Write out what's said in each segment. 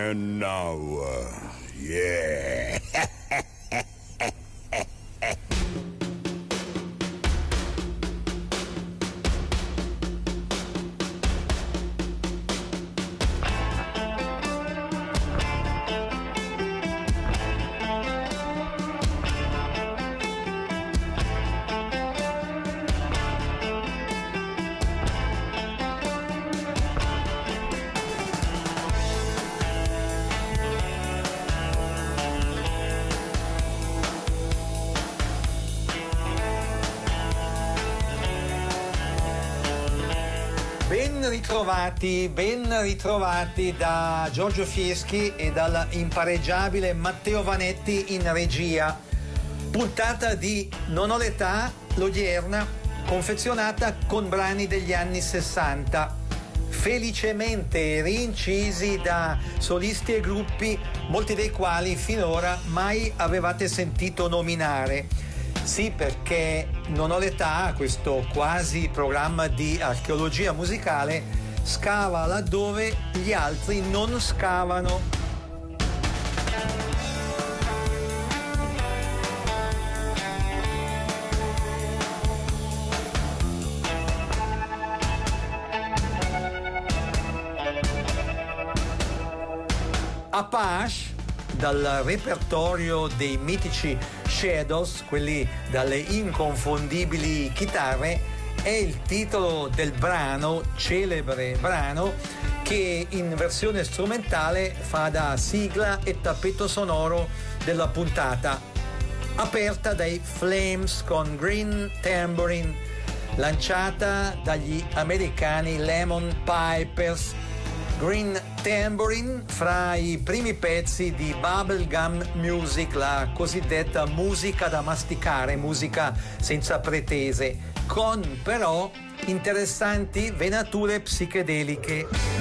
And now, yeah. Ben ritrovati da Giorgio Fieschi e dal impareggiabile Matteo Vanetti in regia. Puntata di Non ho l'età, l'odierna, confezionata con brani degli anni 60, felicemente rincisi da solisti e gruppi, molti dei quali finora mai avevate sentito nominare. Sì, perché Non ho l'età, questo quasi programma di archeologia musicale, scava laddove gli altri non scavano. Apache, dal repertorio dei mitici Shadows, quelli dalle inconfondibili chitarre, è il titolo del brano, celebre brano, che in versione strumentale fa da sigla e tappeto sonoro della puntata, aperta dai Flames con Green Tambourine, lanciata dagli americani Lemon Pipers. Green Tambourine, fra i primi pezzi di bubblegum music, la cosiddetta musica da masticare, musica senza pretese, con però interessanti venature psichedeliche.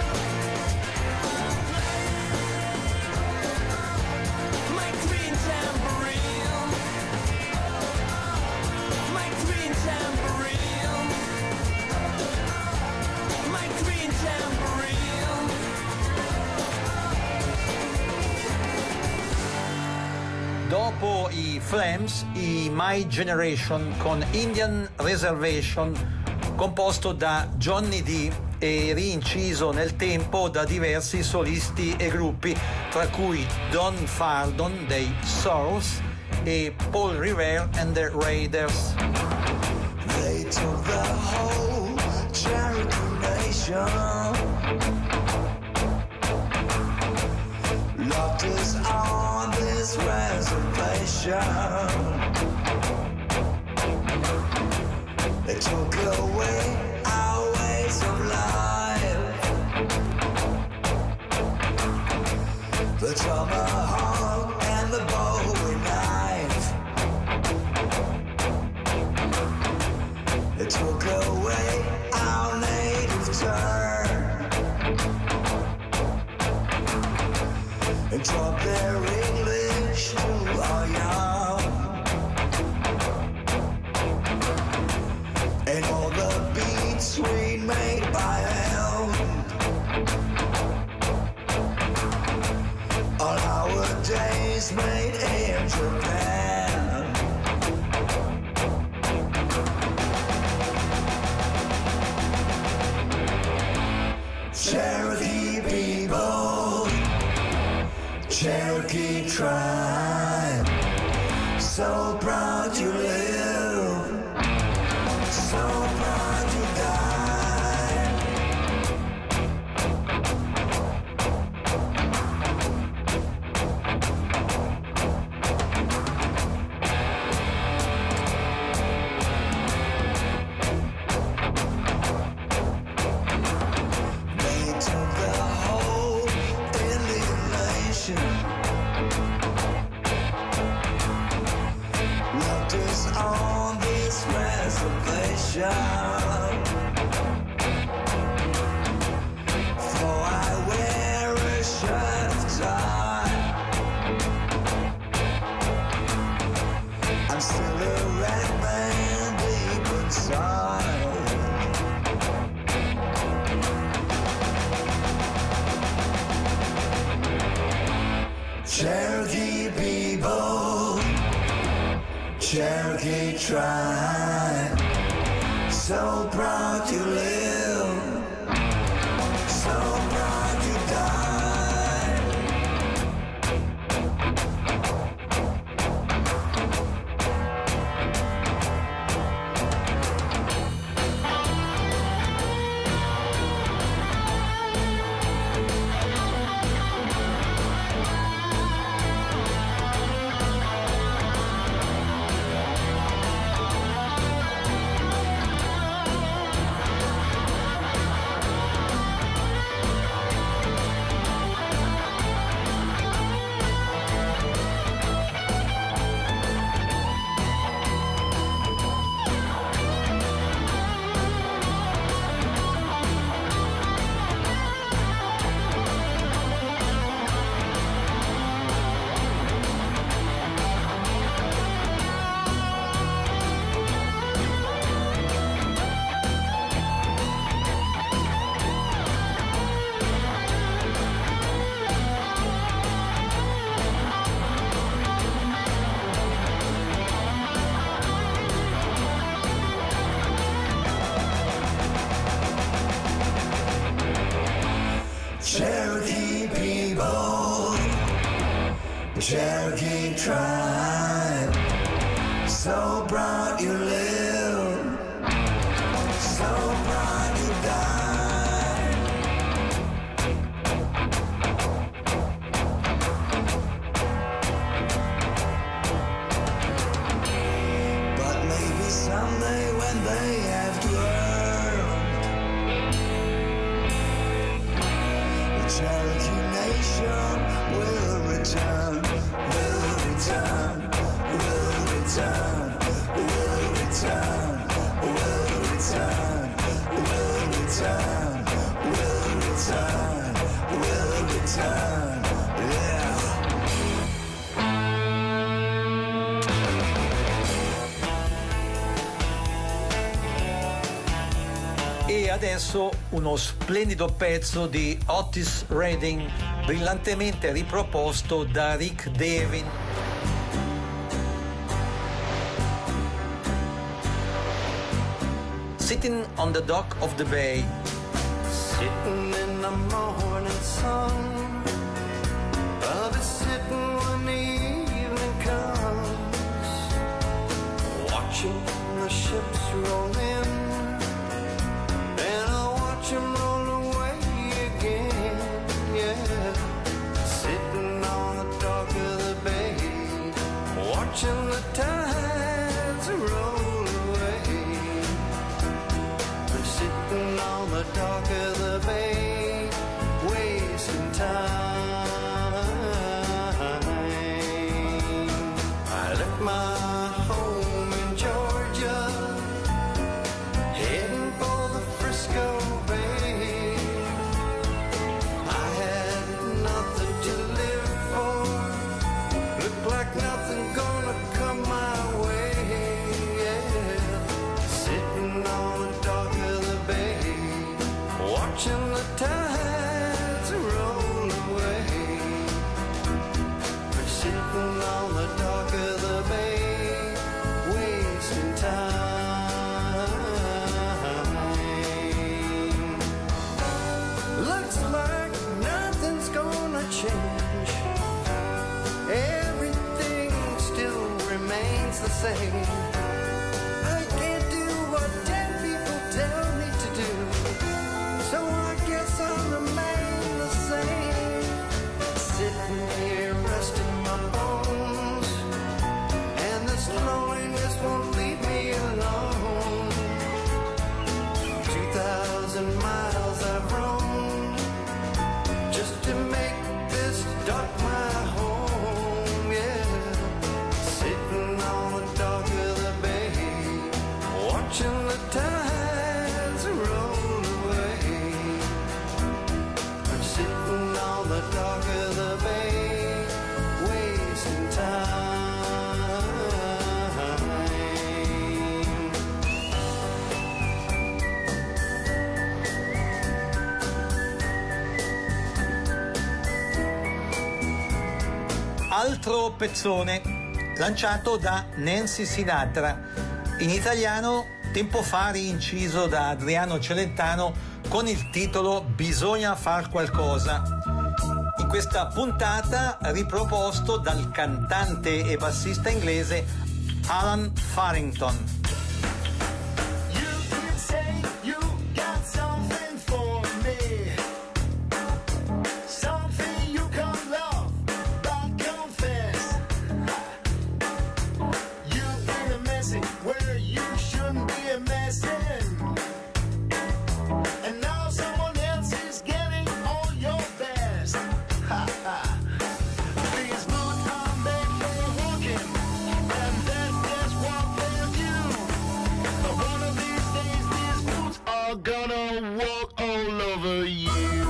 Green Tambourine. dopo i Flames, i My Generation con Indian Reservation, composto da Johnny D e rinciso nel tempo da diversi solisti e gruppi, tra cui Don Fardon dei Sorrows e Paul Revere and the Raiders. They took the whole Cherokee Nation, locked us on this reservation. They took away our ways of life, the tomahawk and the bowie knife. They took away our native tongue and taught their English to our young. And all the beats we made by hand, all our days made in Japan. Cherokee people, Cherokee tribe, so proud you live, so proud you die. They took the whole Indian nation, locked us on this reservation. For I wear a shirt of tie, I'm still a red man deep inside. Cherokee people, Cherokee tribe, so proud you live, so proud you die. Cherokee people, Cherokee tribe, so proud you live, so proud you die. But maybe someday when they have grown, the Cherokee nation will return, will return, will return, will return, will return, will return, will return, will return, yeah. E adesso uno splendido pezzo di Otis Redding, brillantemente riproposto da Rick Devin. Sitting on the Dock of the Bay. Sitting in the morning sun, I'll be sitting when the evening comes, watching the ships roll in, and I'll watch them roll away again, yeah. Sitting on the dock of the bay, watching the tides roll away. I'm sitting on the dock of the bay, wasting time. I left my home in Georgia, heading for the Frisco Bay. I had nothing to live for, looked like nothing gonna come my way, yeah. Sitting on the dock of the bay, watching the tides roll away. I'm sitting on the dock of the bay, wasting time. Looks like nothing's gonna change, everything still remains the same. I can't do what 10 people tell me to do, so I guess I'll remain the same. Sitting here resting my bones, and this loneliness won't leave me alone. 2,000 miles I've roamed just to make this dock my home, yeah. Sitting on the dock of the bay, watching the tides roll away. I'm sitting on the dock of the bay, wasting time. Altro pezzone lanciato da Nancy Sinatra, in italiano tempo fa rinciso da Adriano Celentano con il titolo Bisogna far qualcosa. In questa puntata riproposto dal cantante e bassista inglese Alan Farrington. You could say you got something for me, something you can't love but confess. You've been a messing where you shouldn't be a messing, and now someone else is getting all your best. These boots are made for walking, and that's just what they'll do. But one of these days, these boots are gonna walk all over you.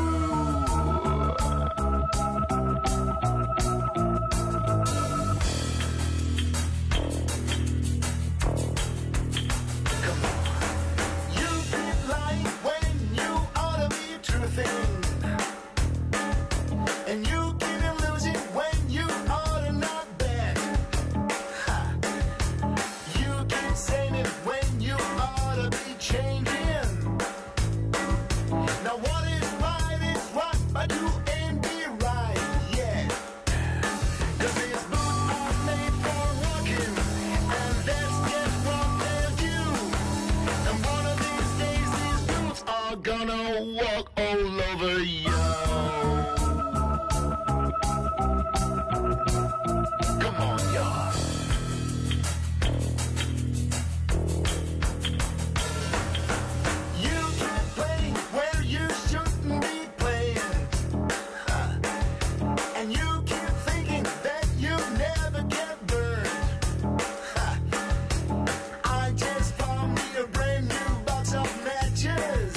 Come on. You keep lying when you ought to be truthing, and you keep losing when you ought to not bet. Ha. You keep saying it when you ought to be changing. Now what is right, but you ain't be right yet. 'Cause these boots are made for walking, and that's just what they'll do. And one of these days, these boots are gonna walk all over you. Come on, y'all. You keep playing where you shouldn't be playing, and you keep thinking that you never get burned. I just found me a brand new box of matches,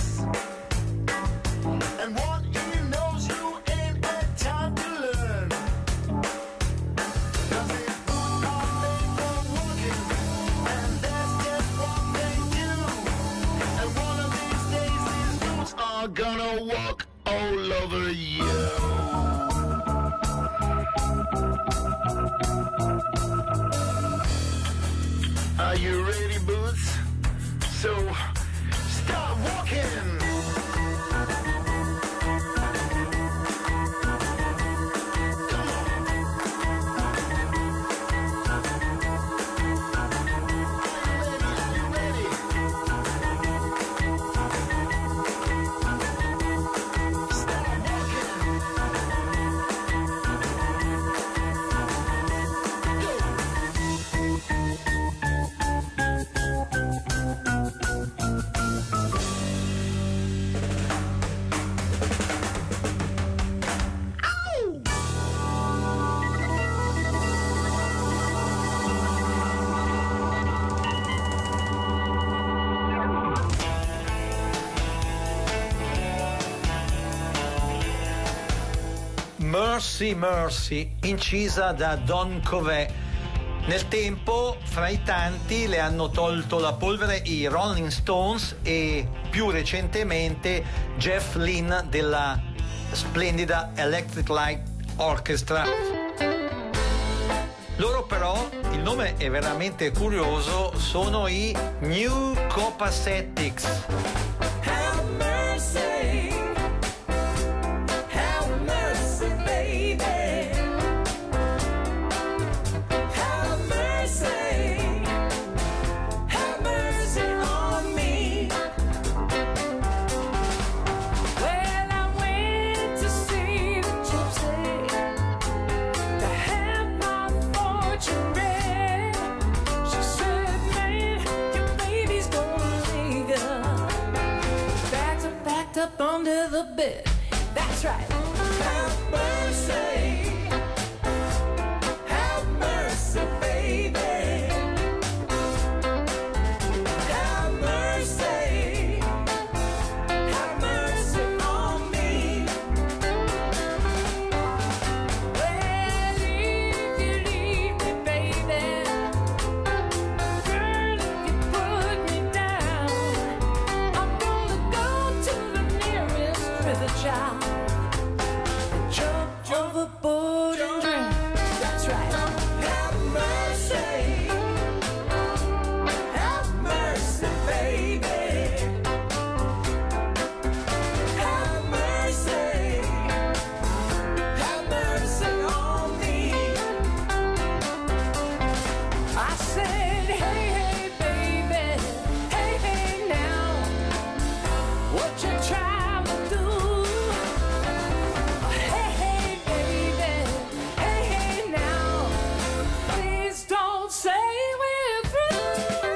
and one you knows you ain't had time to learn. 'Cause these boots are made for walking, and that's just what they do. And one of these days, these boots are gonna walk all over you. Are you ready, Boots? So Mercy Mercy, incisa da Don Covey. Nel tempo, fra i tanti, le hanno tolto la polvere i Rolling Stones e più recentemente Jeff Lynne della splendida Electric Light Orchestra. Loro però, il nome è veramente curioso, sono i New Copacetics. Have mercy, baby. Have mercy on me. Well, I went to see the gypsy to have my fortune read. She said, man, your baby's gonna leave ya. Bags are packed up under the bed. That's right. Have mercy. Have mercy, baby. Have mercy. Have mercy on me. Well, if you leave me, baby, girl, if you put me down, I'm gonna go to the nearest river, child, and jump overboard and drown. That's right. Have mercy. Have mercy, baby. Have mercy. Have mercy on me. I said, hey, hey, baby. Hey, hey, now. What you trying to do? Hey, hey, baby. Hey, hey, now. Please don't say we're through.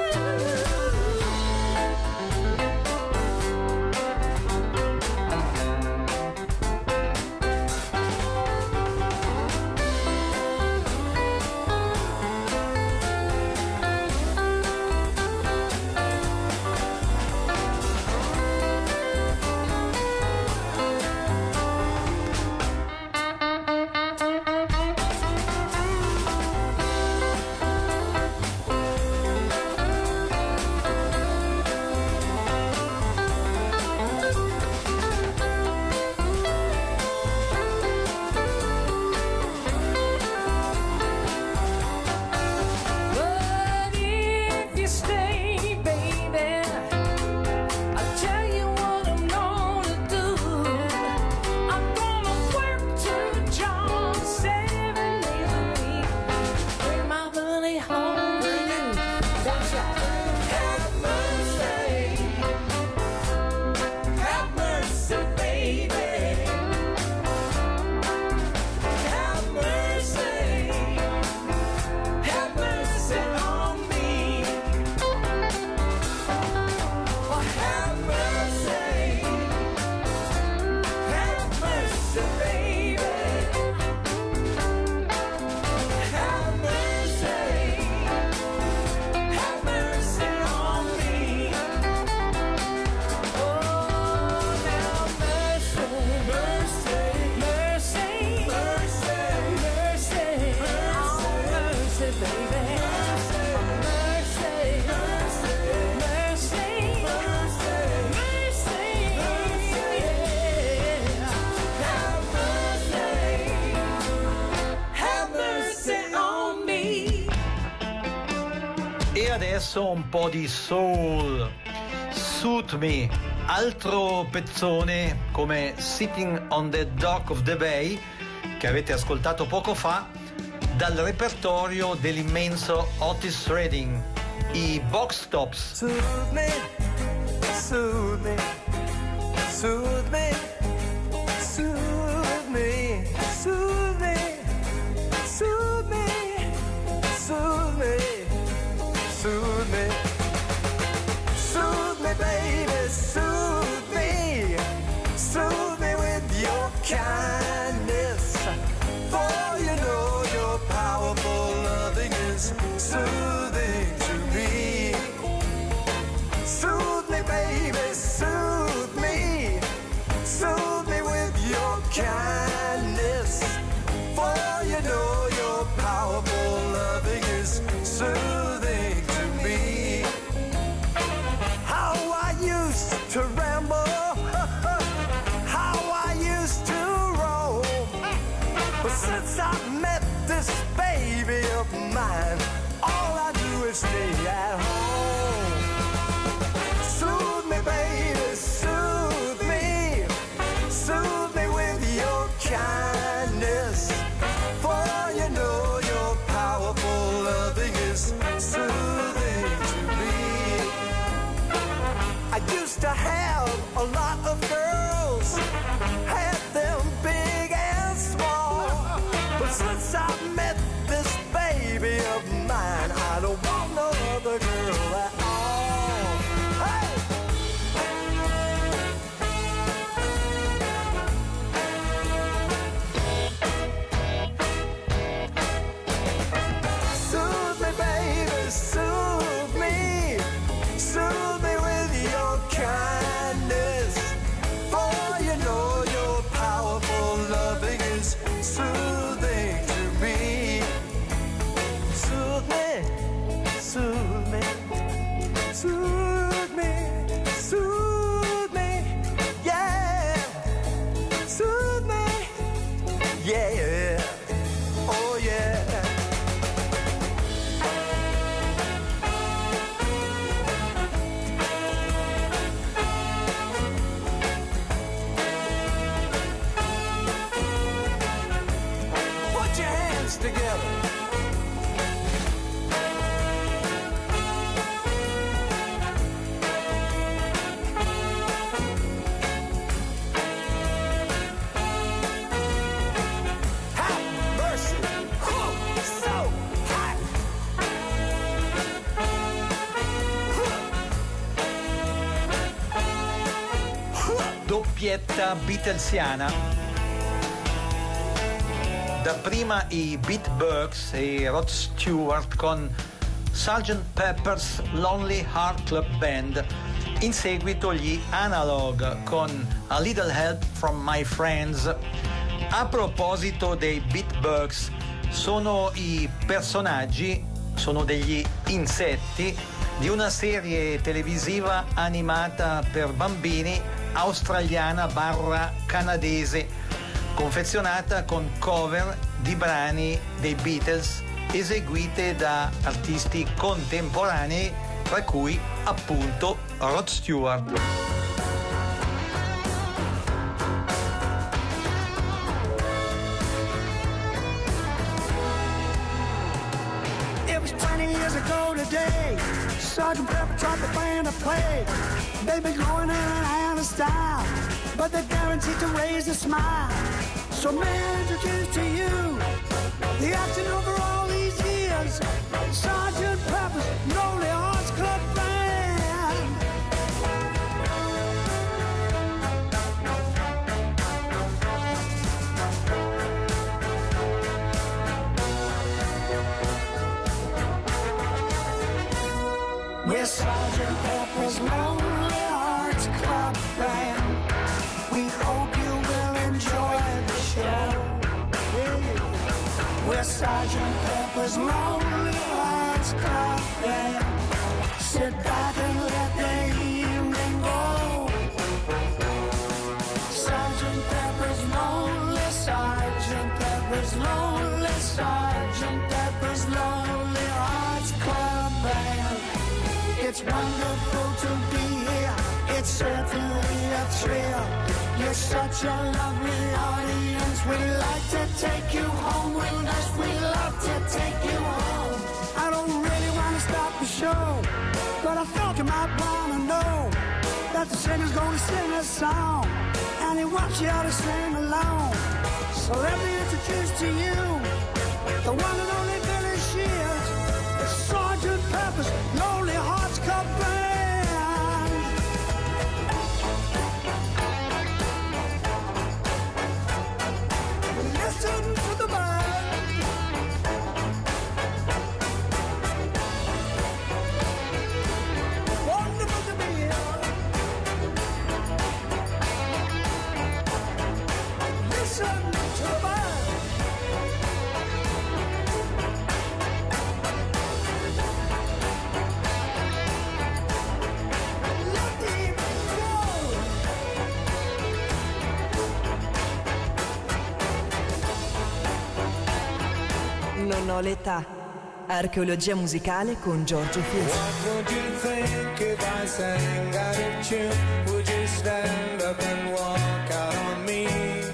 But if you stay, baby, I'll tell you what I'm gonna do. I'm gonna work 2 jobs 7 days a week. Bring my money home to you. That's right. Have mercy. Have mercy, baby. Have mercy. Have mercy on me. Oh, have mercy. Have mercy, baby. Have mercy. Have mercy on me. Oh, now mercy, mercy, mercy, mercy, mercy, oh, mercy, baby. Mercy, mercy, mercy, mercy, yeah. Have mercy on me. E adesso un po' di soul. Suit Me, altro pezzone come Sitting on the Dock of the Bay, che avete ascoltato poco fa, dal repertorio dell'immenso Otis Redding, i Box Tops. Soothe me, soothe me, soothe me, soothe me, soothe me, soothe me, soothe me, soothe me, soothe me, baby, soothe me with your kindness. For you know your powerful loving is soothing to me. Soothe me, baby, soothe me with your kindness. you know your powerful loving is soothing to me. How I used to ramble, how I used to roam, but since I met this baby of mine, all I do is stay at home. Soothe me, baby, soothe me with your kindness, for you know your powerful loving is soothing to me. I used to have a lot of girls, had them big and small, but since I met this baby of mine, I don't want no other girl at all. Hey! Soothe me, baby, soothe me with your kindness, for you know your powerful loving is soothing to me. Soothe me, soothe me, soothe me, soothe me, yeah, soothe me, yeah, oh yeah. Put your hands together. Have mercy. Whew, so hot. Doppietta Beatlesiana. Dapprima i Beat Burks e Rod Stewart con Sgt. Pepper's Lonely Heart Club Band, in seguito gli Analog con A Little Help from My Friends. A proposito dei Beat Burks, sono i personaggi, sono degli insetti di una serie televisiva animata per bambini australiana / canadese, confezionata con cover di brani dei Beatles eseguite da artisti contemporanei, tra cui appunto Rod Stewart. It was 20 years ago today. Sgt. Pepper taught the band to play. They've been going in and out of style, but they're guaranteed to raise a smile. So may I introduce to you the acting over all these years, Sgt. Pepper's Lonely Hearts Club Band. We're Sgt. Pepper's Lonely Hearts Club Band. We hope you will enjoy the show. We're Sgt. Pepper's Lonely Hearts Club Band. Sit back and let the evening go. Sgt. Pepper's Lonely, Sgt. Pepper's Lonely, Sgt. Pepper's Lonely Hearts Club Band. It's wonderful to be here. It's certainly a thrill. You're such a lovely audience. We'd like to take you home with us. We'd love to take you home. I don't really want to stop the show, but I thought you might want to know that the singer's going to sing a song, and he wants you to sing along. So let me introduce to you the one and only Billy Shears, the Sgt. Pepper's Lonely Hearts Club Band. Listen to the band. Wonderful to be here. Listen to the band. Non ho l'età. Archeologia musicale con Giorgio Fieschi. What would you think if I sang out of tune? Would you stand up and walk out on me?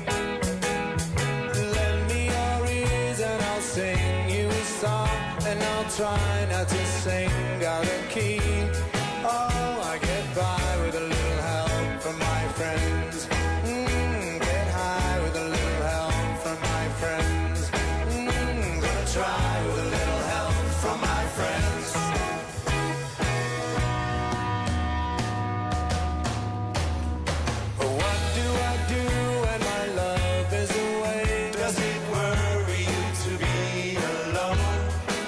Lend me your ears and I'll sing you a song, and I'll try not to sing out of key. Oh, I get by with a little help from my friends. Get high with a little help from my friends. Gonna try with a little help from my friends. What do I do when my love is away? Does it worry you to be alone?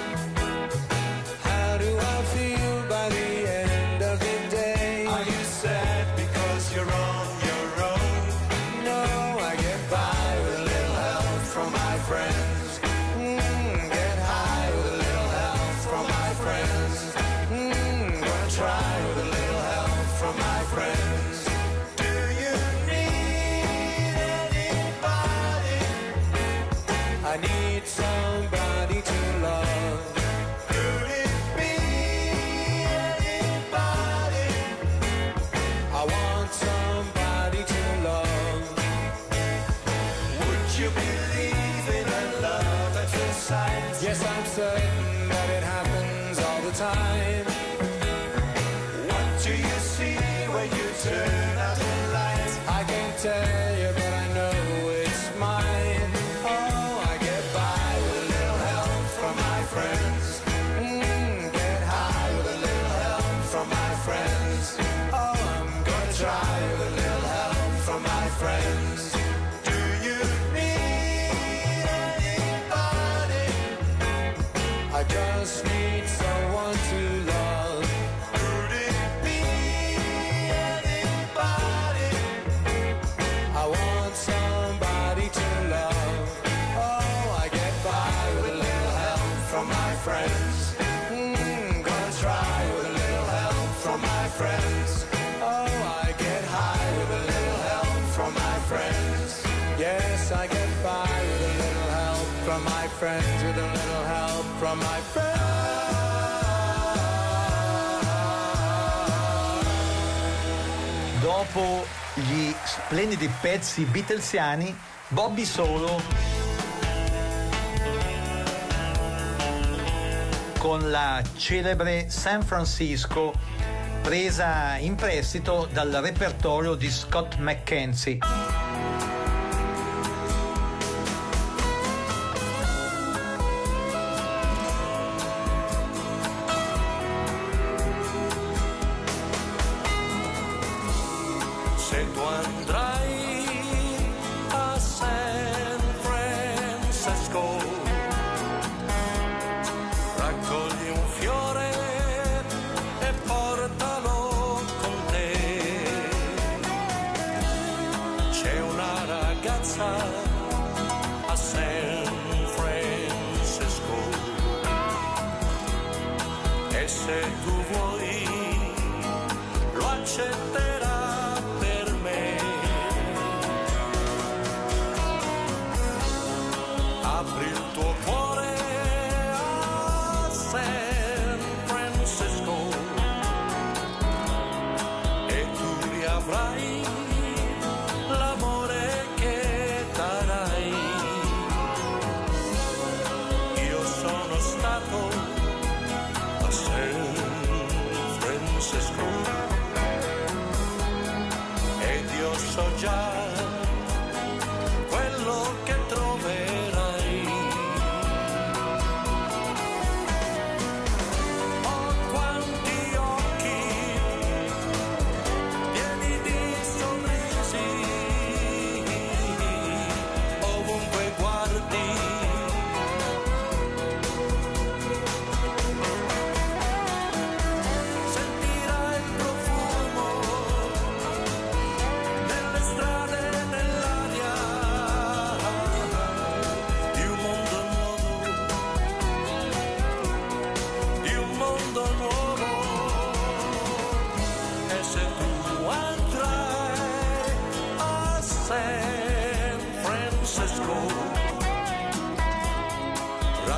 How do I feel by the end of the day? Are you sad because you're on your own? No, I get by with a little help from my friends. Get high with a little help from my friends. Gonna try with a little help from my friends. Do you need anybody? I need somebody to love. Could it be anybody? I want somebody to love. Would you believe in a love at first sight? Yes, I'm certain that it happens all the time. What do you see when you turn out the light? I can't tell you, but I know it's mine. Oh, I get by with a little help from my friends. Get high with a little help from my friends. Oh, I'm gonna try with a little help from my friends. Do you need anybody? I just need someone to love. Could it be anybody? I want somebody to love. Oh, I get by with a little help from my friends. Gonna try with a little help from my friends. Oh, I get high with a little help from my friends. Yes, I get by with a little help from my friends. With a little help from my friends. Dopo gli splendidi pezzi beatlesiani, Bobby Solo con la celebre San Francisco, presa in prestito dal repertorio di Scott McKenzie. Se tu andrai a San Francisco, raccogli un fiore e portalo con te. C'è una ragazza a San Francisco e se tu vuoi lo accetterà. Apri il tuo cuore a San Francisco e tu riavrai l'amore che darai. Io sono stato a San Francisco ed io so già quello che troverai. Sentirai il profumo delle strade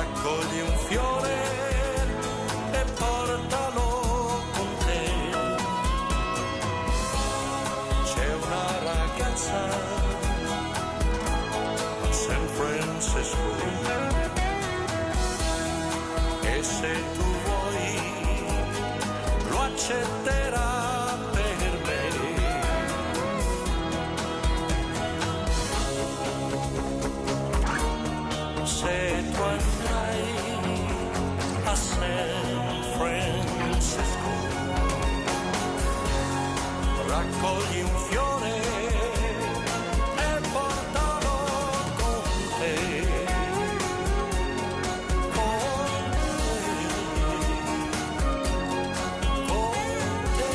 raccogli un fiore e portalo con te. C'è una ragazza a San Francisco e se tu vuoi lo accetterà per me. Se tu andrai a San Francisco, raccogli un fiore e portalo con te. Con te. Con te.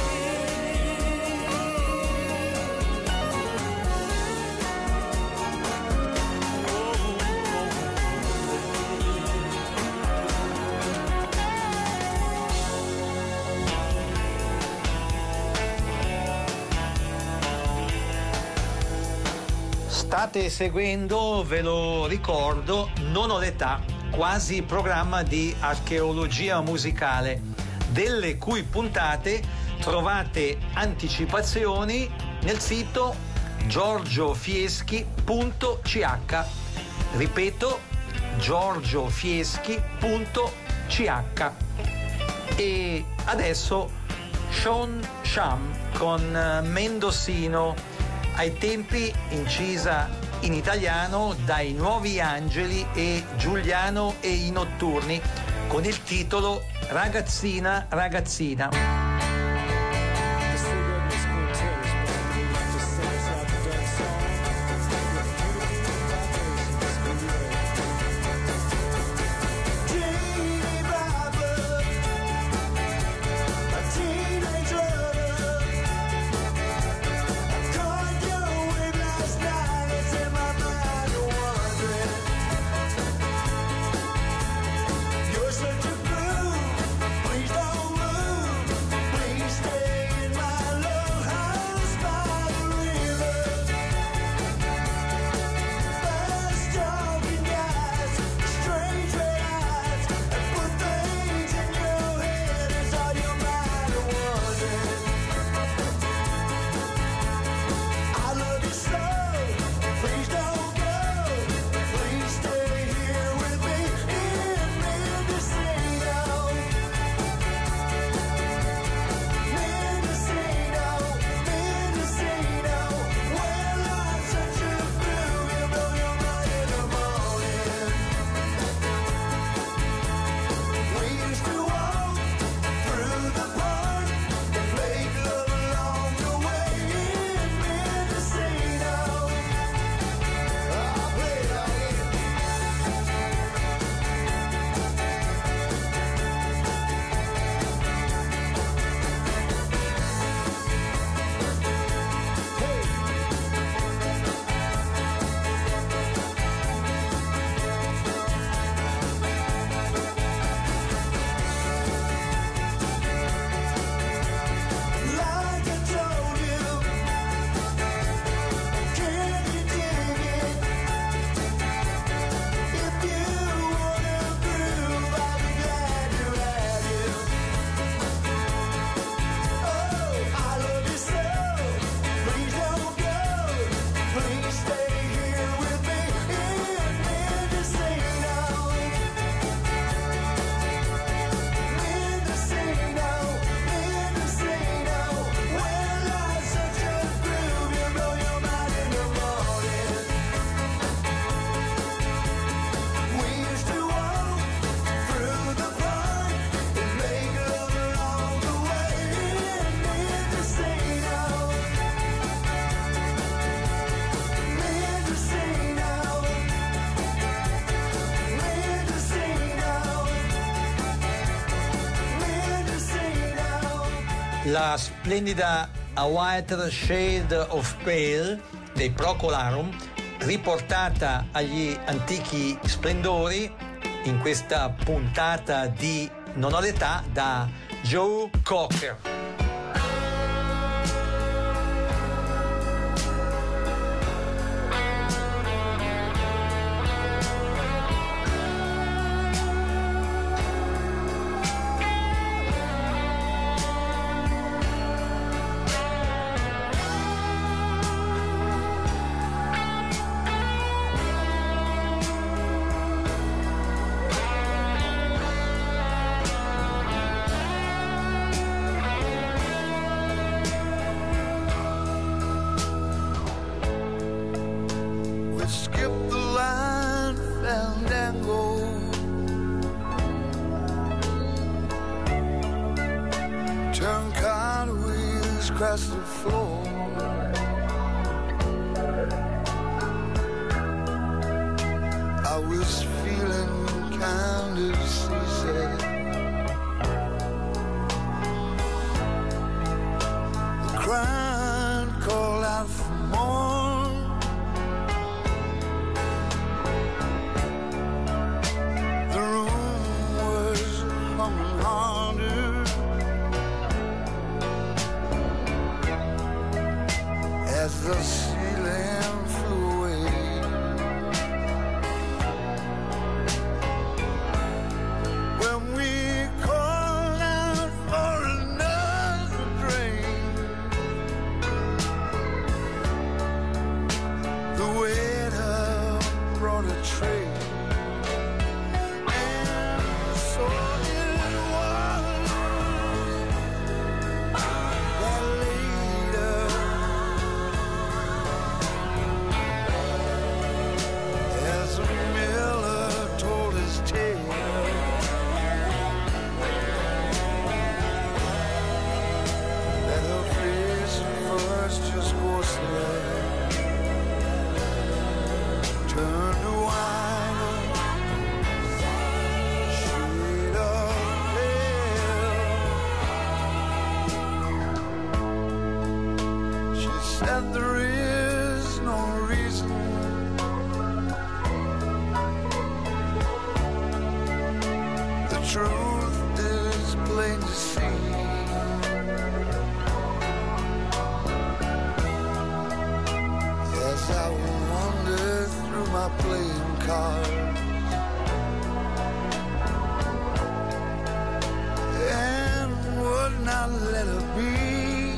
State seguendo, ve lo ricordo, Non ho l'età, quasi programma di archeologia musicale, delle cui puntate trovate anticipazioni nel sito giorgiofieschi.ch. Ripeto, giorgiofieschi.ch. E adesso Sean Sham con Mendocino, ai tempi incisa in italiano dai Nuovi Angeli e Giuliano e i Notturni, con il titolo Ragazzina, ragazzina. Please don't move. la splendida A Whiter Shade of Pale dei Procolarum, riportata agli antichi splendori in questa puntata di Non ho l'età da Joe Cocker. across the floor. I was feeling kind of seasick. The crowd called out for more. The room was humming harder as the ceiling flew away. When we called out for another drink, the waiter brought a tray, and so it was that later, as Miller told his tale, that her face first just ghostly turned to white, shade of pale. She said there is no reason the truth is plain to see. As I wandered through my playing cards and would not let her be,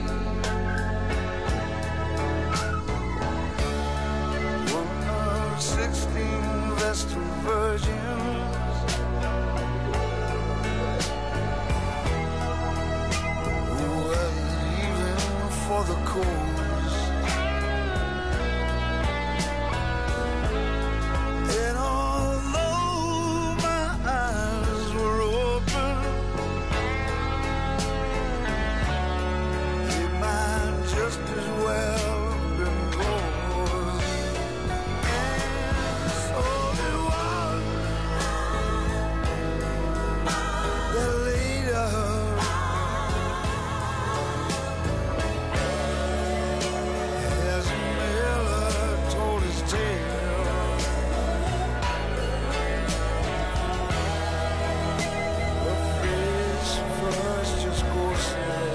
1 of 16 Vestal virgins who were leaving for the coast. And although my eyes were open, they might just as well been closed. And so it was that later, as Miller told his tale, the face first just ghostly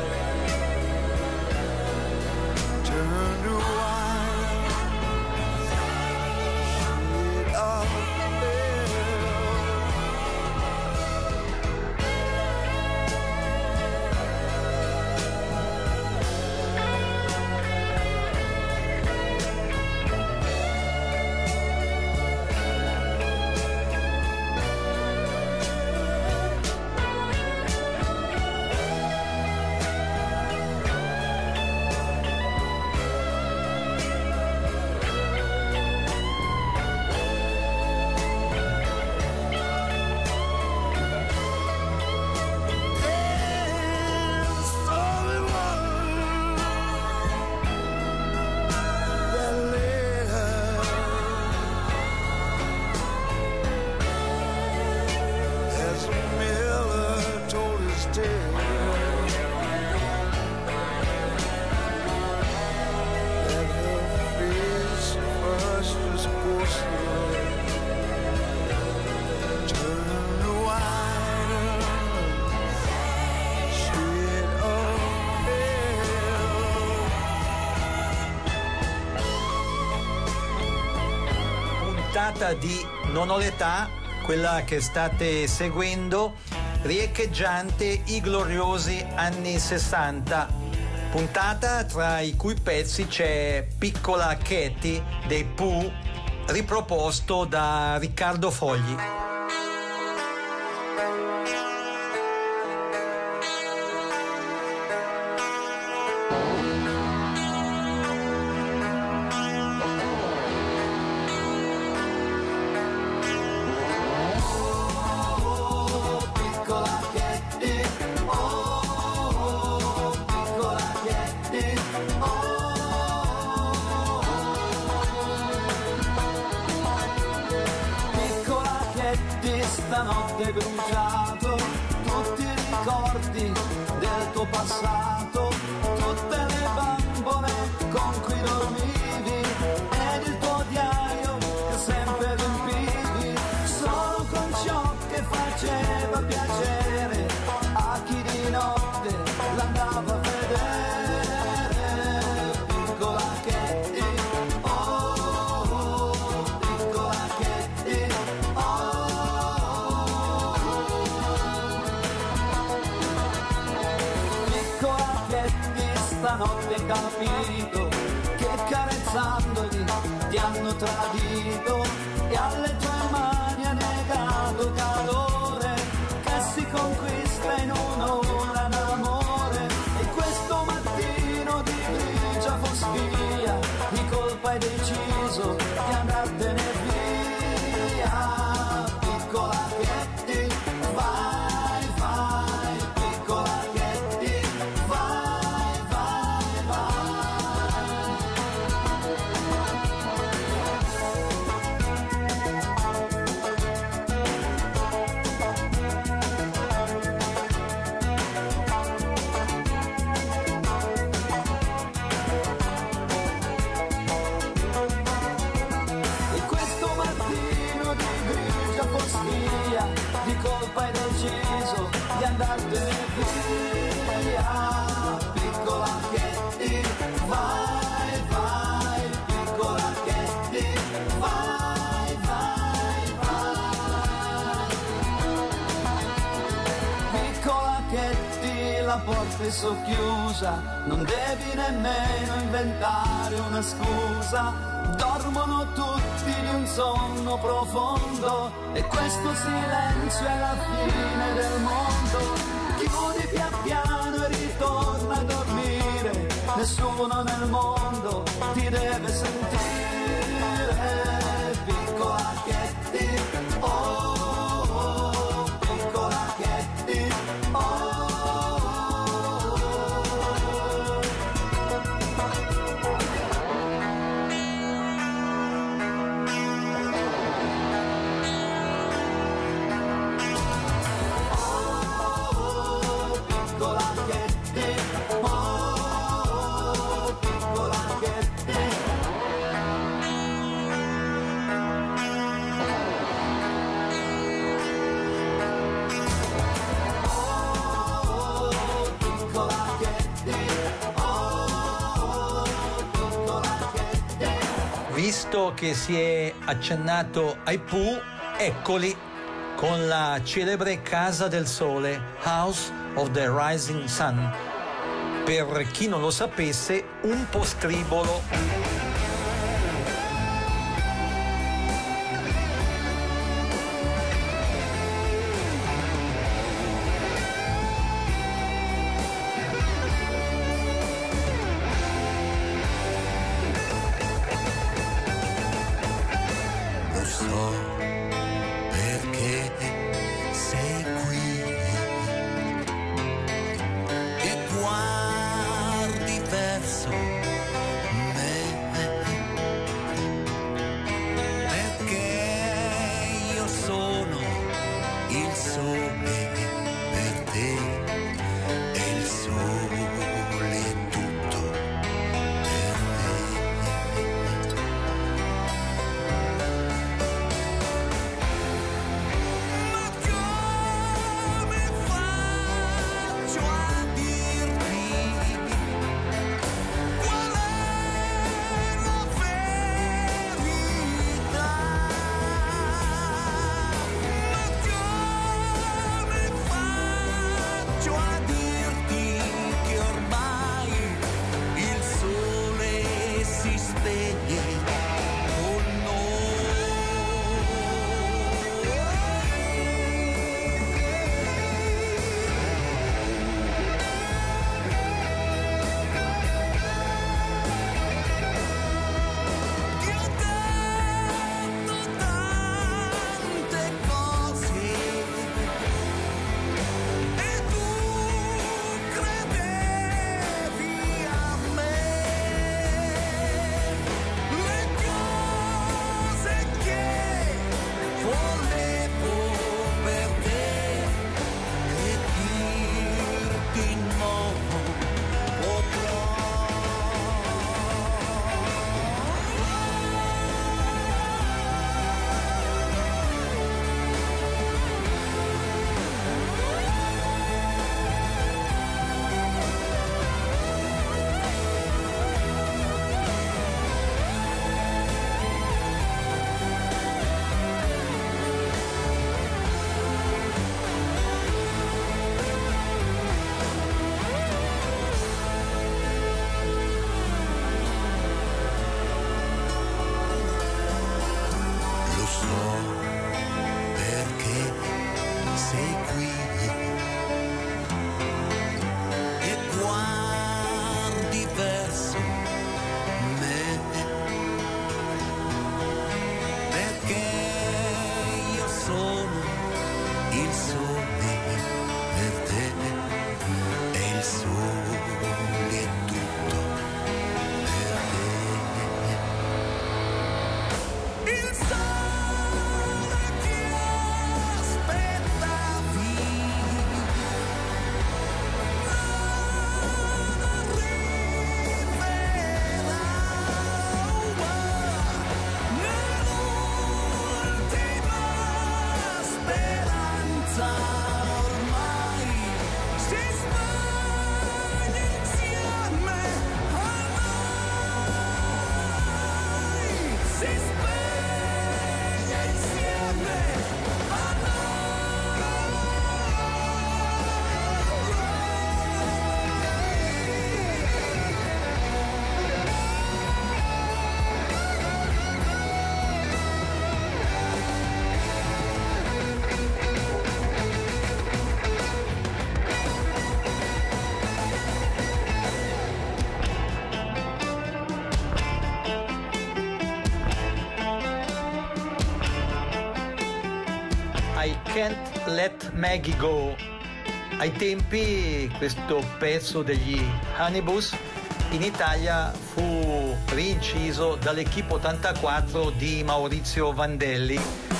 turned to white, shade of pale. Puntata di Non ho l'età, quella che state seguendo, riecheggiante i gloriosi anni 60. Puntata tra i cui pezzi c'è Piccola Katy dei Pooh, riproposto da Riccardo Fogli. Piccola Katy, occhietti stanotte bruciato, tutti i ricordi del tuo passato, tutte le bambole con cui dormivi ed il tuo diario che sempre riempivi, solo con ciò che faceva piacere a chi di notte l'andava a vedere. Piccola Katie, oh, piccola Katie, piccola Katie, stanotte hai capito che carezzandoli ti hanno tradito e alle tue mani ha negato calore che si conquista in un'ora d'amore. E questo mattino di grigia foschia di colpa hai deciso di andartene via. Piccola Katie, vai, vai, piccola Katie, vai, vai, vai. E questo mattino di grigia foschia di colpa hai deciso di andartene via. Piccola Katie, vai, vai, piccola Katie, vai, vai, vai. Piccola Katie, la porta è socchiusa, non devi nemmeno inventare una scusa. Dormono tutti di un sonno profondo e questo silenzio è la fine del mondo. Chiudi pian piano e ritorna a dormire, nessuno nel mondo ti deve sentire. Piccola Katie, oh, piccola Katie, oh. Piccola Katie, oh, piccola Katie. Oh, piccola Katie, oh, piccola Katie. Visto che si è accennato ai Pooh, eccoli con la celebre Casa del Sole, House of the Rising Sun. Per chi non lo sapesse, un postribolo. Lo so perché sei qui e guardi verso me, perché io sono il sole per te e il sole è tutto per me. Ma come faccio a dirti qual è la verità? Ma come faccio sei qui e guardi verso me, perché io sono il sole per te e il sole è tutto per te. Il sole che aspettavi non arriverà nell'ultima speranza ormai si spegne insieme a noi, si spegne insieme a I Can't Let Maggie Go. Ai tempi questo pezzo degli Honeybus in Italia fu rinciso dall'Equipe 84 di Maurizio Vandelli.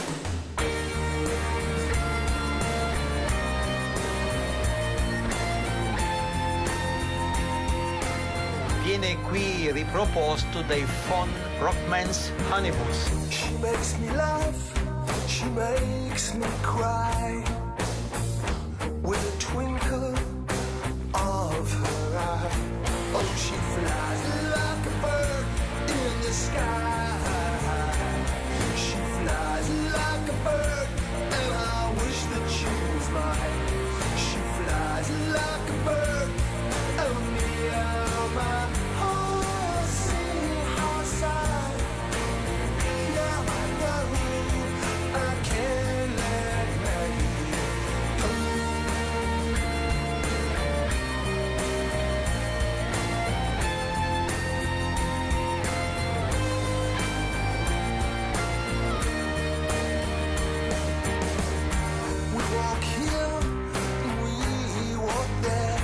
Viene qui riproposto dai Von Rockmans Honeybus. She makes me laugh, she makes me cry, with a twinkle of her eye. Oh, she flies like a bird in the sky. She flies like a bird, and I wish that she was mine. She flies like a bird, oh me, oh my, oh, see how sad. Now I know I can't let Maggie go. We walk here, we walk there.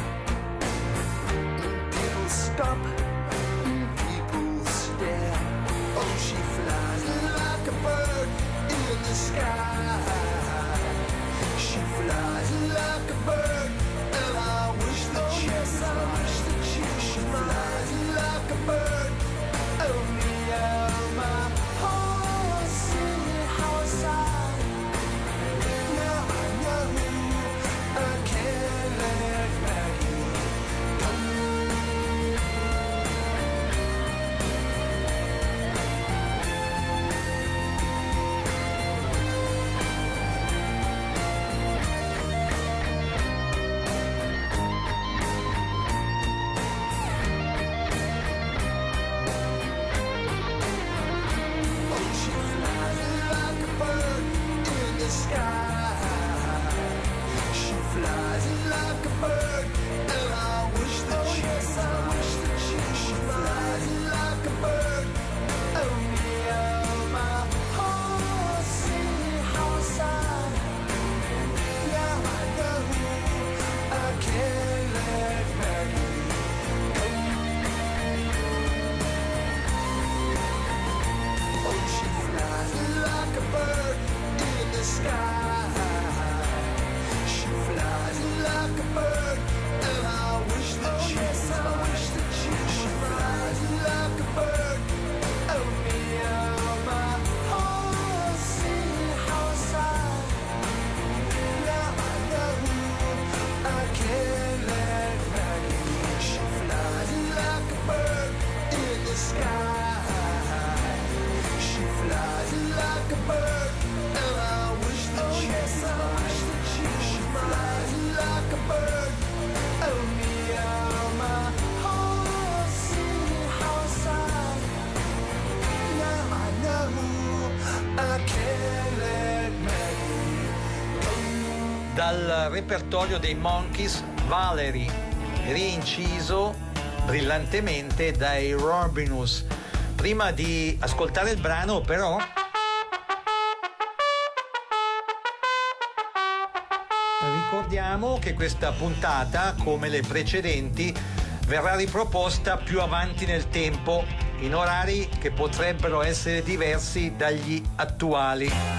People stop, people stare. Oh, she flies like a bird in the sky. She flies like a bird, and I wish that she was mine. She flies like a bird, oh me, oh my, oh, see how sad. Now I know I can't let Maggie go. Oh, she flies like a bird in the sky. She flies like a bird, and I wish that she was mine. She flies like a bird, oh me, oh my, oh, see how sad. Now I know I can't let Maggie go. Oh, she flies like a bird in the sky. She flies like a bird, and I wish that she was mine. dal repertorio dei Monkees, Valerie, rinciso brillantemente dai Robinus. Prima di ascoltare il brano, però, ricordiamo che questa puntata, come le precedenti, verrà riproposta più avanti nel tempo, in orari che potrebbero essere diversi dagli attuali.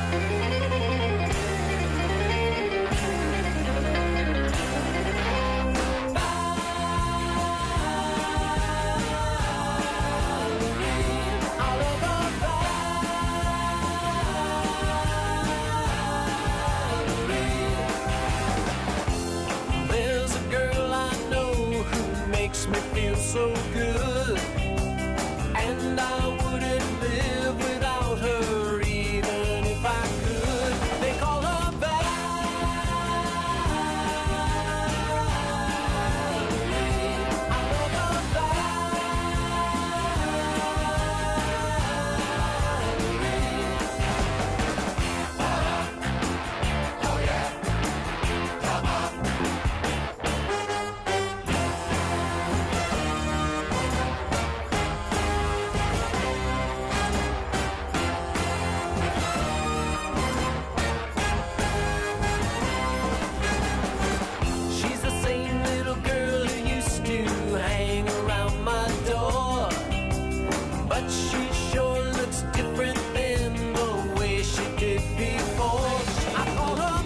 There's a girl I know who makes me feel so good, and I wouldn't live without her even if I could. They call her She's the same little girl who used to hang around my door, but she sure looks different than the way she did before. I call her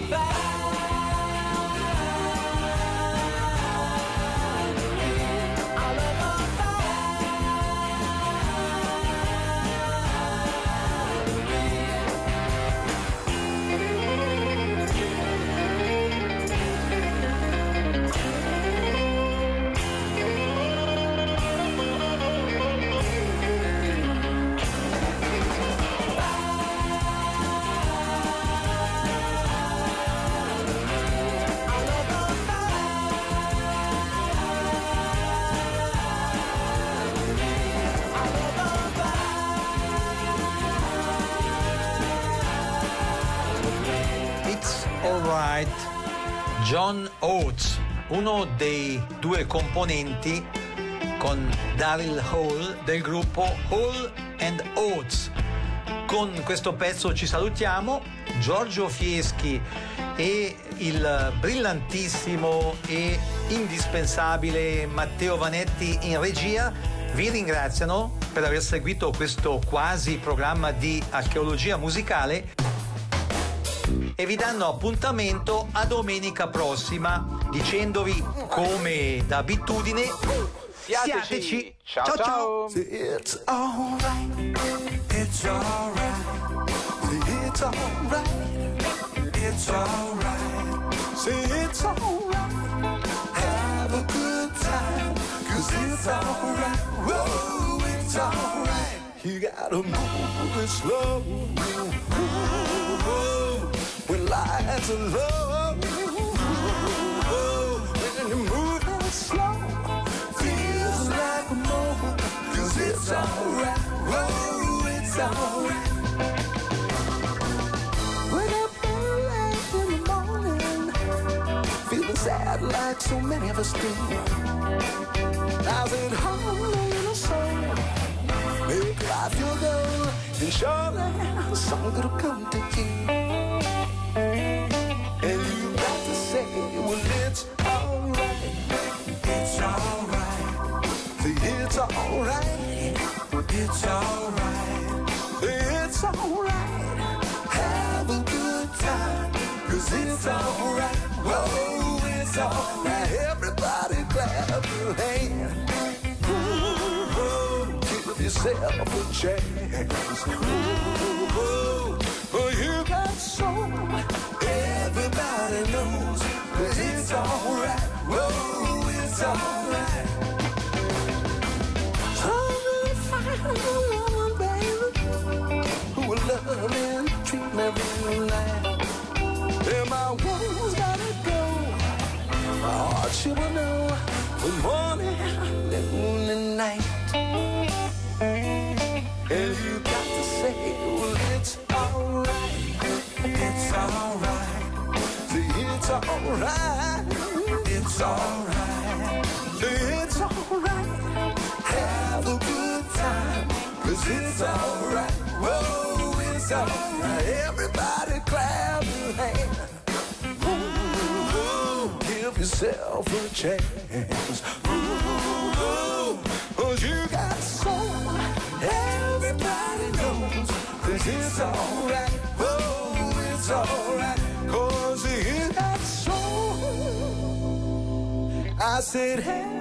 It's Alright, John Oates, uno dei due componenti con Daryl Hall del gruppo Hall and Oates. Con questo pezzo ci salutiamo. Giorgio Fieschi e il brillantissimo e indispensabile Matteo Vanetti in regia vi ringraziano per aver seguito questo quasi programma di archeologia musicale e vi danno appuntamento a domenica prossima, dicendovi come d'abitudine siateci. Ciao ciao. It's alright, it's alright, it's alright, it's alright, say it's alright, have a good time, 'cause it's alright, whoa, it's alright, you gotta move it slow, when lights are low, when you move it slow, feels like a moment, 'cause it's alright, whoa, it's alright. Wake up early in the morning, feeling sad like so many of us do. How's it home in the soul? Make life your goal, and surely something will come to you. And you got to say, well, it's alright, it's alright, see, it's alright, it's alright, it's alright, have a good time, 'cause it's alright, whoa, it's alright, everybody clap your hands, give yourself a chance, oh, you got soul, everybody knows that it's alright, whoa, it's alright. I'm gonna find a woman, baby, who will love me and treat me real nice. And my woman's gotta go, my heart she will know, the morning, noon and night. And you got to say, well, it's alright, see, it's it's alright. It's alright. It's alright. Have a good time. 'Cause it's alright. Whoa, it's alright. Everybody clap your hands. Ooh, give yourself a chance. Ooh, 'cause you got soul. Everybody knows. 'Cause it's alright. Whoa, it's alright. 'Cause you got soul. I said, hey.